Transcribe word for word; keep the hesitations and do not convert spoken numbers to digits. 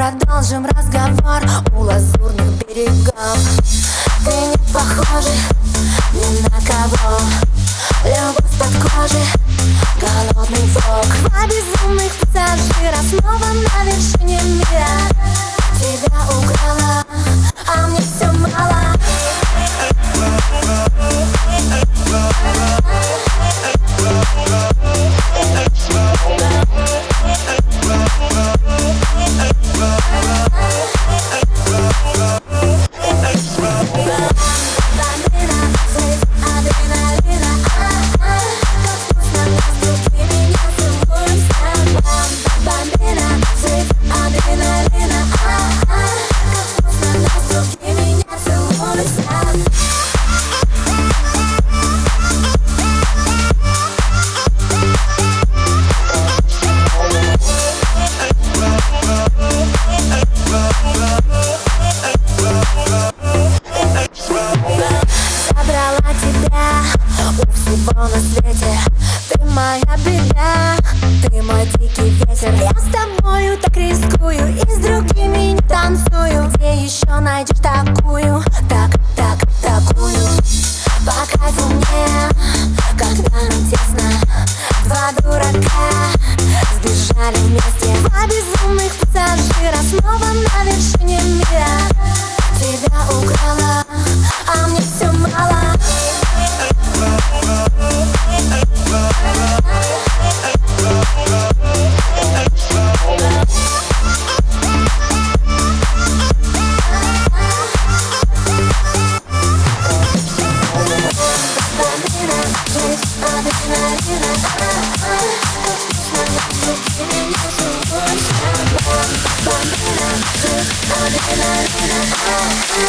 продолжим разговор у лазурных берегов. Ты не похожа ни на кого. Любовь под кожей, голодный волк. Два безумных пассажира снова на вершине мира. Тебя украла, а мне все мало. На свете ты моя беда, ты мой дикий ветер. Я с тобою так рискую и с другими не танцую. Где еще найдешь такую, так, так, такую? По кайфу мне, когда нам тесно. Два дурака сбежали вместе. Два безумных пассажира снова на вершине мира. Тебя украла, а мне все мало. Adrenalina, adrenalina,